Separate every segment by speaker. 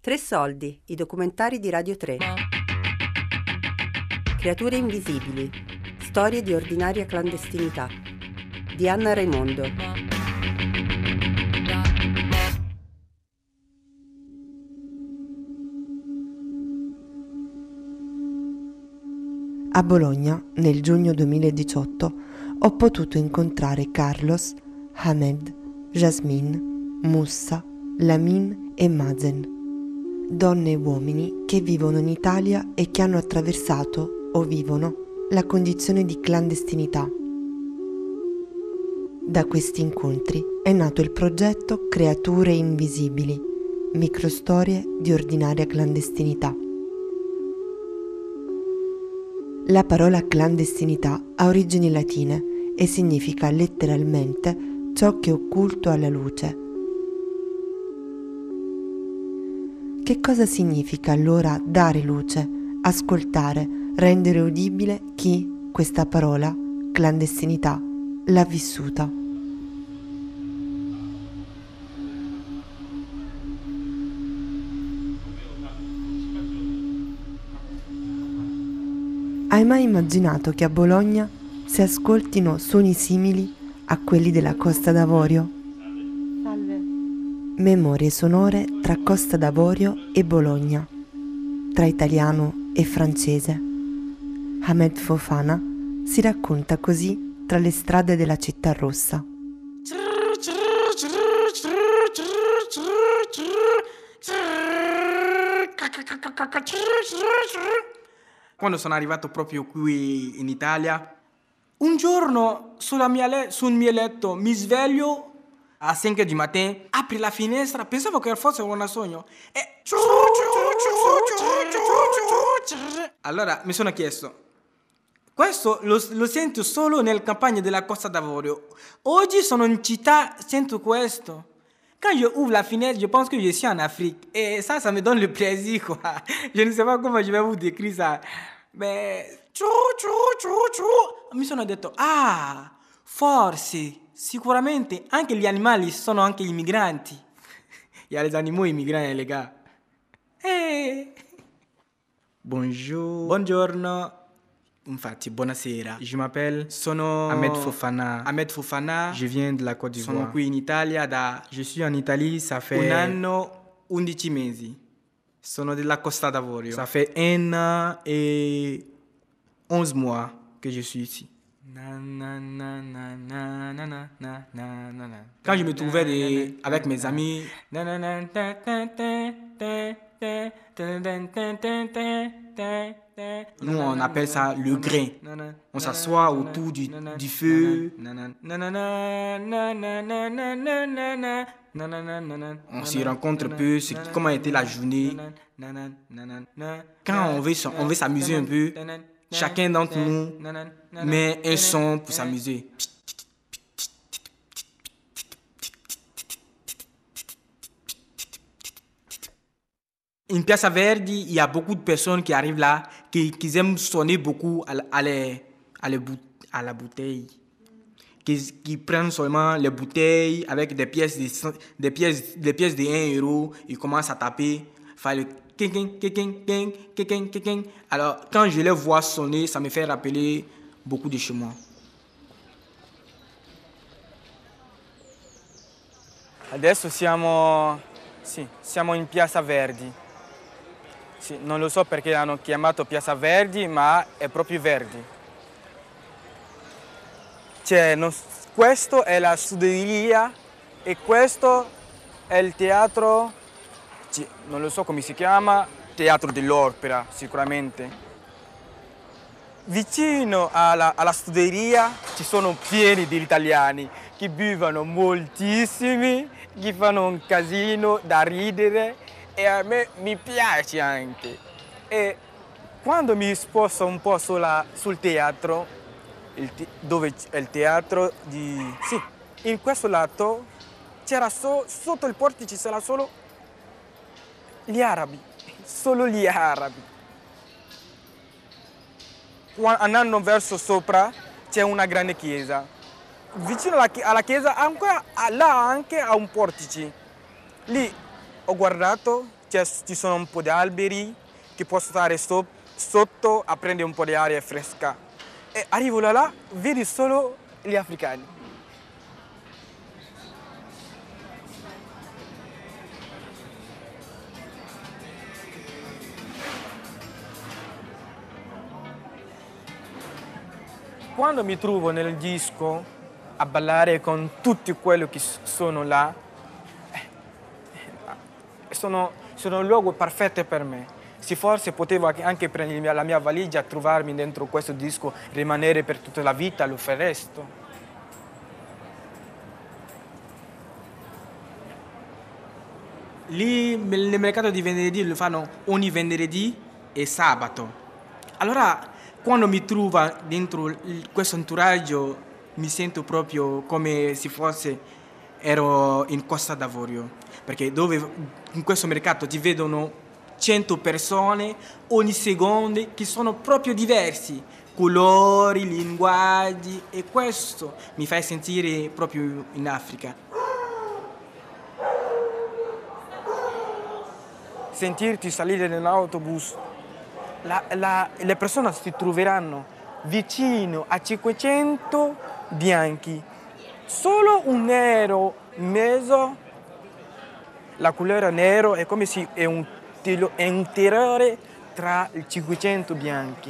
Speaker 1: Tre soldi, i documentari di Radio 3. Creature invisibili, storie di ordinaria clandestinità. Di Anna Raimondo.
Speaker 2: A Bologna, nel giugno 2018, ho potuto incontrare Carlos, Hamed, Jasmine, Moussa, Lamin e Mazen. Donne e uomini che vivono in Italia e che hanno attraversato, o vivono, la condizione di clandestinità. Da questi incontri è nato il progetto Creature Invisibili, microstorie di ordinaria clandestinità. La parola clandestinità ha origini latine e significa letteralmente ciò che è occulto alla luce. Che cosa significa allora dare luce, ascoltare, rendere udibile chi questa parola, clandestinità, l'ha vissuta? Hai mai immaginato che a Bologna si ascoltino suoni simili a quelli della Costa d'Avorio?
Speaker 3: Salve.
Speaker 2: Memorie sonore tra Costa d'Avorio e Bologna, tra italiano e francese. Ahmed Fofana si racconta così tra le strade della città rossa.
Speaker 4: Quando sono arrivato proprio qui in Italia, un giorno sul mio letto mi sveglio a 5 di mattina, apri la finestra, pensavo che fosse un sogno e allora mi sono chiesto, questo lo sento solo nelle campagne della Costa d'Avorio. Oggi sono in città, sento questo. Quand je ouvre la fenêtre, je pense que je suis en Afrique. Et ça me donne le plaisir, quoi. Je ne sais pas comment je vais vous décrire ça. Mais... Mi sono detto, forse, sicuramente, anche gli animali sono anche immigranti. Il y a les animaux immigrants, les gars. Bonjour. Buongiorno. Infatti, buonasera. Je m'appelle Ahmed Fofana. Ahmed Fofana. Je viens de la Côte d'Ivoire. Sono qui in Italia Je suis en Italie, ça fait... Un anno, 11 mesi. Sono della Costa d'Avorio. Ça fait 1 an et 11 mois que je suis ici. Quand je me trouvais avec mes amis... Nous, on appelle ça le grain. On s'assoit autour du feu. On se rencontre un peu, comment était la journée. Quand on veut s'amuser un peu, chacun d'entre nous met un son pour s'amuser. In Piazza Verdi, il y a beaucoup de personnes qui arrivent là, qui aiment sonner beaucoup à la bouteille. Qui prennent seulement les bouteilles avec des pièces de 1 euro, ils commencent à taper, faire le king. Alors, quand je les vois sonner, ça me fait rappeler beaucoup de chez moi.
Speaker 5: Adesso siamo in Piazza Verdi. Sì, non lo so perché l'hanno chiamato Piazza Verdi, ma è proprio Verdi. Questo è la studeria e questo è il teatro, non lo so come si chiama, Teatro dell'Opera sicuramente. Vicino alla studeria ci sono pieni di italiani che bevono moltissimi, che fanno un casino da ridere e a me mi piace anche. E quando mi sposto un po' sul teatro, dove è il teatro di... Sì, in questo lato c'era sotto il portice c'era solo gli arabi, solo gli arabi. Andando verso sopra c'è una grande chiesa. Vicino alla chiesa là anche ha un portice. Lì ho guardato, ci sono un po' di alberi che posso stare sotto a prendere un po' di aria fresca. E arrivo là, vedi solo gli africani. Quando mi trovo nel disco a ballare con tutti quelli che sono là, sono un luogo perfetto per me. Se forse potevo anche prendere la mia valigia, trovarmi dentro questo disco, rimanere per tutta la vita, lo farei.
Speaker 4: Lì nel mercato di venerdì lo fanno ogni venerdì e sabato. Allora, quando mi trovo dentro questo entourage, mi sento proprio come se fosse ero in Costa d'Avorio, perché dove in questo mercato ti vedono 100 persone ogni secondo che sono proprio diversi, colori, linguaggi, e questo mi fa sentire proprio in Africa.
Speaker 5: Sentirti salire nell'autobus, le persone si troveranno vicino a 500 bianchi, solo un nero in mezzo. La colore nero è come se è un terrore tra i 500 bianchi.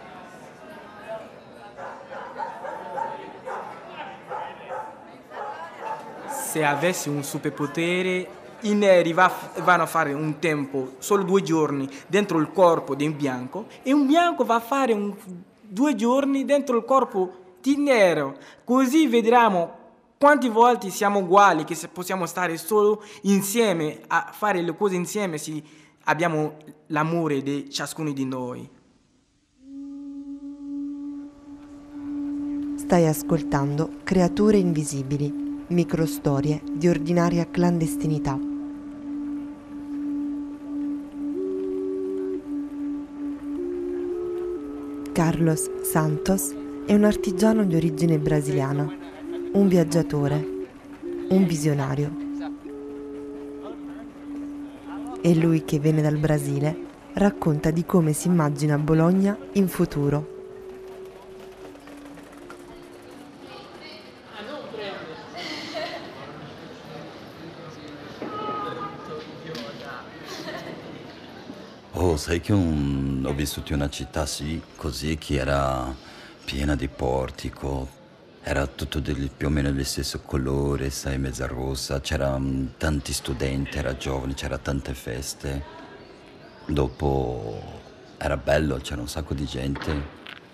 Speaker 4: Se avessi un superpotere, i neri vanno a fare un tempo, solo 2 giorni, dentro il corpo di un bianco, e un bianco va a fare 2 giorni dentro il corpo di nero. Così vedremo quante volte siamo uguali, che possiamo stare solo insieme, a fare le cose insieme, se abbiamo l'amore di ciascuno di noi.
Speaker 2: Stai ascoltando Creature Invisibili, microstorie di ordinaria clandestinità. Carlos Santos è un artigiano di origine brasiliana, un viaggiatore, un visionario. E lui che viene dal Brasile racconta di come si immagina Bologna in futuro.
Speaker 3: Oh, sai che ho vissuto in una città così che era piena di portico, era tutto più o meno dello stesso colore, sai, mezza rossa, c'erano tanti studenti, era giovane, c'era tante feste. Dopo era bello, c'era un sacco di gente.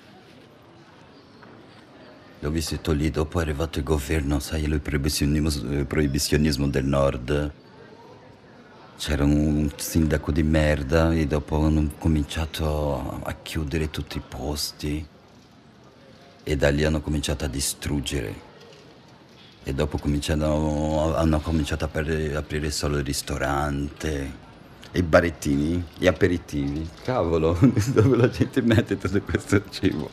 Speaker 3: L'ho vissuto lì, dopo è arrivato il governo, sai, il proibizionismo del nord. C'era un sindaco di merda e dopo hanno cominciato a chiudere tutti i posti e da lì hanno cominciato a distruggere e dopo hanno cominciato a aprire solo il ristorante, i barettini, gli aperitivi, cavolo, dove la gente mette tutto questo cibo.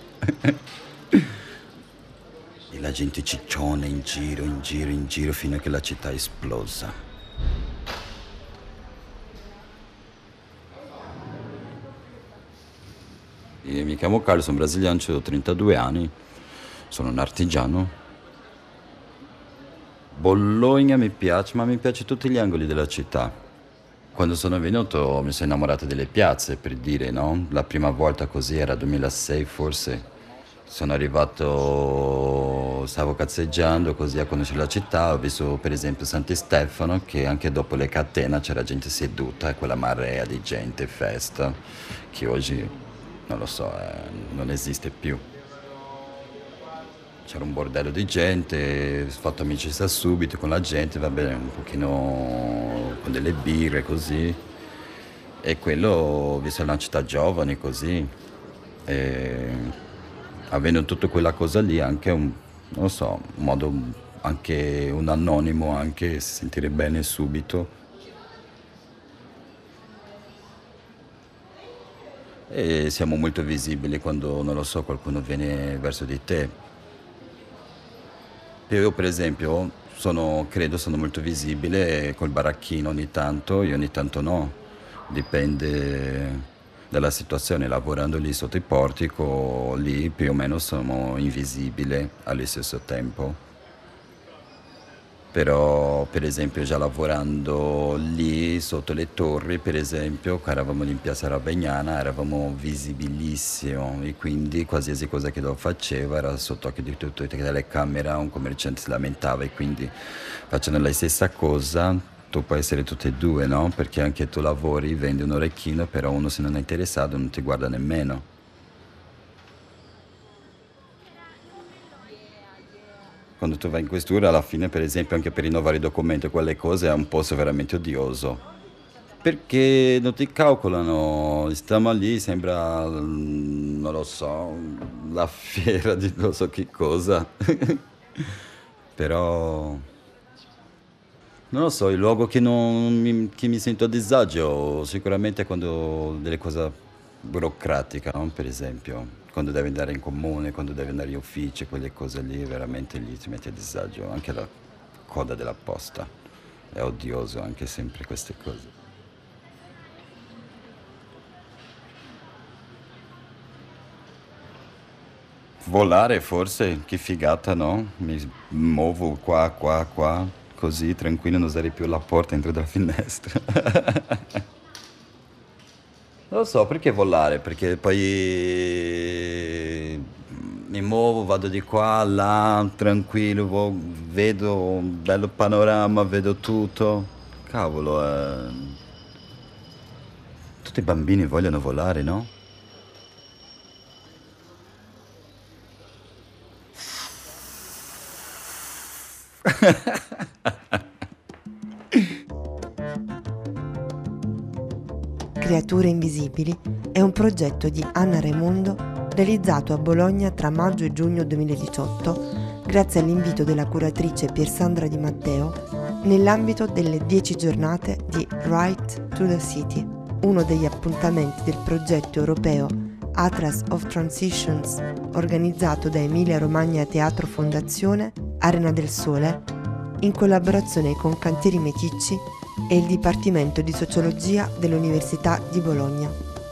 Speaker 3: E la gente cicciona in giro fino a che la città è esplosa. Io mi chiamo Carlo, sono brasiliano, ho 32 anni, sono un artigiano. Bologna mi piace, ma mi piace tutti gli angoli della città. Quando sono venuto mi sono innamorato delle piazze, per dire, no? La prima volta così era 2006 forse. Sono arrivato, stavo cazzeggiando così a conoscere la città, ho visto per esempio Santi Stefano, che anche dopo le catene c'era gente seduta e quella marea di gente, festa, che oggi... non lo so, non esiste più. C'era un bordello di gente, ho fatto amicizia subito con la gente, va bene, un pochino con delle birre così. E quello, ho visto una città giovane così. E avendo tutta quella cosa lì, anche non lo so, un modo, anche un anonimo, anche si sentire bene subito. E siamo molto visibili quando, non lo so, qualcuno viene verso di te. Io per esempio credo sono molto visibile col baracchino ogni tanto, io ogni tanto no. Dipende dalla situazione. Lavorando lì sotto il portico, lì più o meno sono invisibili allo stesso tempo. Però per esempio già lavorando lì sotto le torri, per esempio, che eravamo lì in Piazza Ravegnana, eravamo visibilissimo e quindi qualsiasi cosa che lo faceva era sotto occhio di tutte le telecamere, un commerciante si lamentava e quindi facendo la stessa cosa tu puoi essere tutte e due, no? Perché anche tu lavori, vendi un orecchino, però uno se non è interessato non ti guarda nemmeno. Quando tu vai in questura, alla fine, per esempio, anche per rinnovare i documenti e quelle cose, è un posto veramente odioso. Perché non ti calcolano, stiamo lì, sembra, non lo so, la fiera di non so che cosa. Però, non lo so, il luogo che mi sento a disagio, sicuramente è quando delle cose burocratiche, no? Per esempio, quando devi andare in comune, quando devi andare in uffici, quelle cose lì, veramente lì ti metti a disagio. Anche la coda della posta è odioso, anche sempre queste cose. Volare forse, che figata, no? Mi muovo qua, qua, qua, così tranquillo, non usare più la porta entro dalla finestra. Non lo so, perché volare? Perché poi mi muovo, vado di qua, là, tranquillo, vedo un bello panorama, vedo tutto. Cavolo, tutti i bambini vogliono volare, no?
Speaker 2: Creature invisibili è un progetto di Anna Raimondo realizzato a Bologna tra maggio e giugno 2018 grazie all'invito della curatrice Piersandra Di Matteo nell'ambito delle 10 giornate di Right to the City, uno degli appuntamenti del progetto europeo Atlas of Transitions organizzato da Emilia Romagna Teatro Fondazione Arena del Sole in collaborazione con Cantieri Meticci e il Dipartimento di Sociologia dell'Università di Bologna.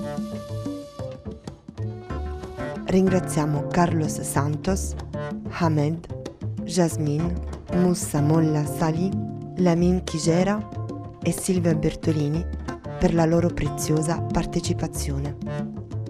Speaker 2: Ringraziamo Carlos Santos, Hamed, Jasmine, Moussa Molla Salih, Lamin Kijera e Silvia Bertolini per la loro preziosa partecipazione.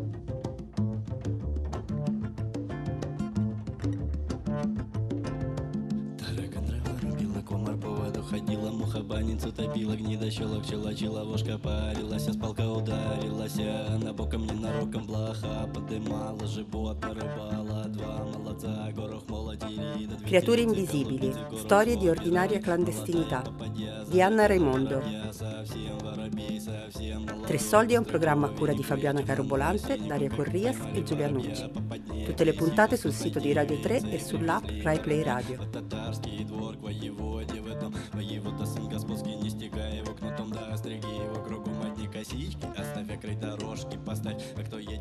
Speaker 6: Ходила муха банницу топила, гнида щелок челочила, вошка парилась, с палка ударилась, она боком ненароком блоха подымала, животно рыбала, два молодца, горох молодили.
Speaker 1: Creature invisibili, storie di ordinaria clandestinità di Anna Raimondo. Tre soldi è un programma a cura di Fabiana Carobolante, Daria Corrias e Giulia Nucci. Tutte le puntate sul sito di Radio 3 e sull'app Rai Play Radio.
Speaker 6: Воевода сын господский, не стекай его кнутом, да стриги его кругом одни косички, оставь край дорожки, поставь, а кто